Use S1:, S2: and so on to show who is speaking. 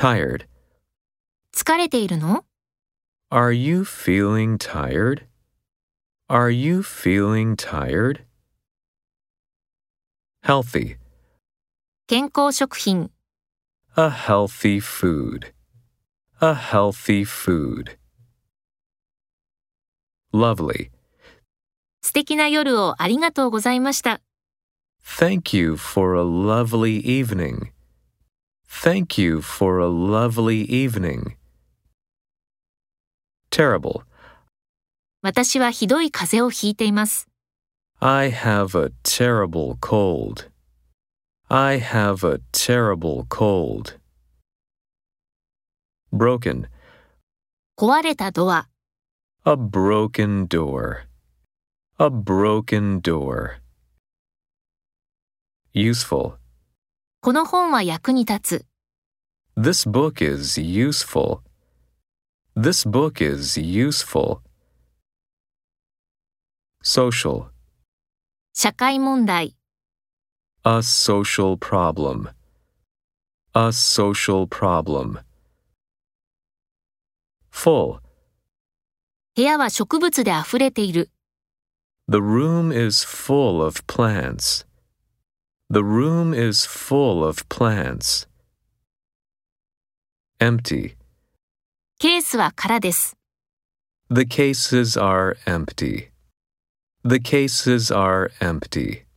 S1: Tired.
S2: 疲れているの？
S1: Are you feeling tired? Are you feeling tired? Healthy.
S2: 健康食品。
S1: A healthy food. A healthy food. Lovely.
S2: 素敵な夜をありがとうございました。
S1: Thank you for a lovely evening. Thank you for a lovely evening. Terrible.
S2: 私はひどい風邪をひいています。
S1: I have a terrible cold. I have a terrible cold. Broken.
S2: 壊れたドア。
S1: A broken door. A broken door. Useful.
S2: この本は役に立つ。
S1: This book is useful. This book is useful. Social.
S2: 社会問題。
S1: A social problem. A social problem. Full.
S2: 部屋は植物であふれている。
S1: The room is full of plants. The room is full of plants. Empty.
S2: ケースは空です。
S1: The cases are empty. The cases are empty.